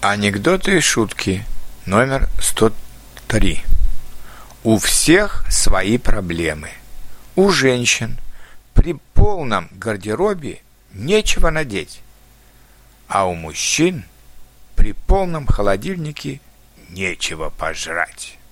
Анекдоты и шутки номер 103. У всех свои проблемы. У женщин при полном гардеробе нечего надеть, а у мужчин при полном холодильнике нечего пожрать.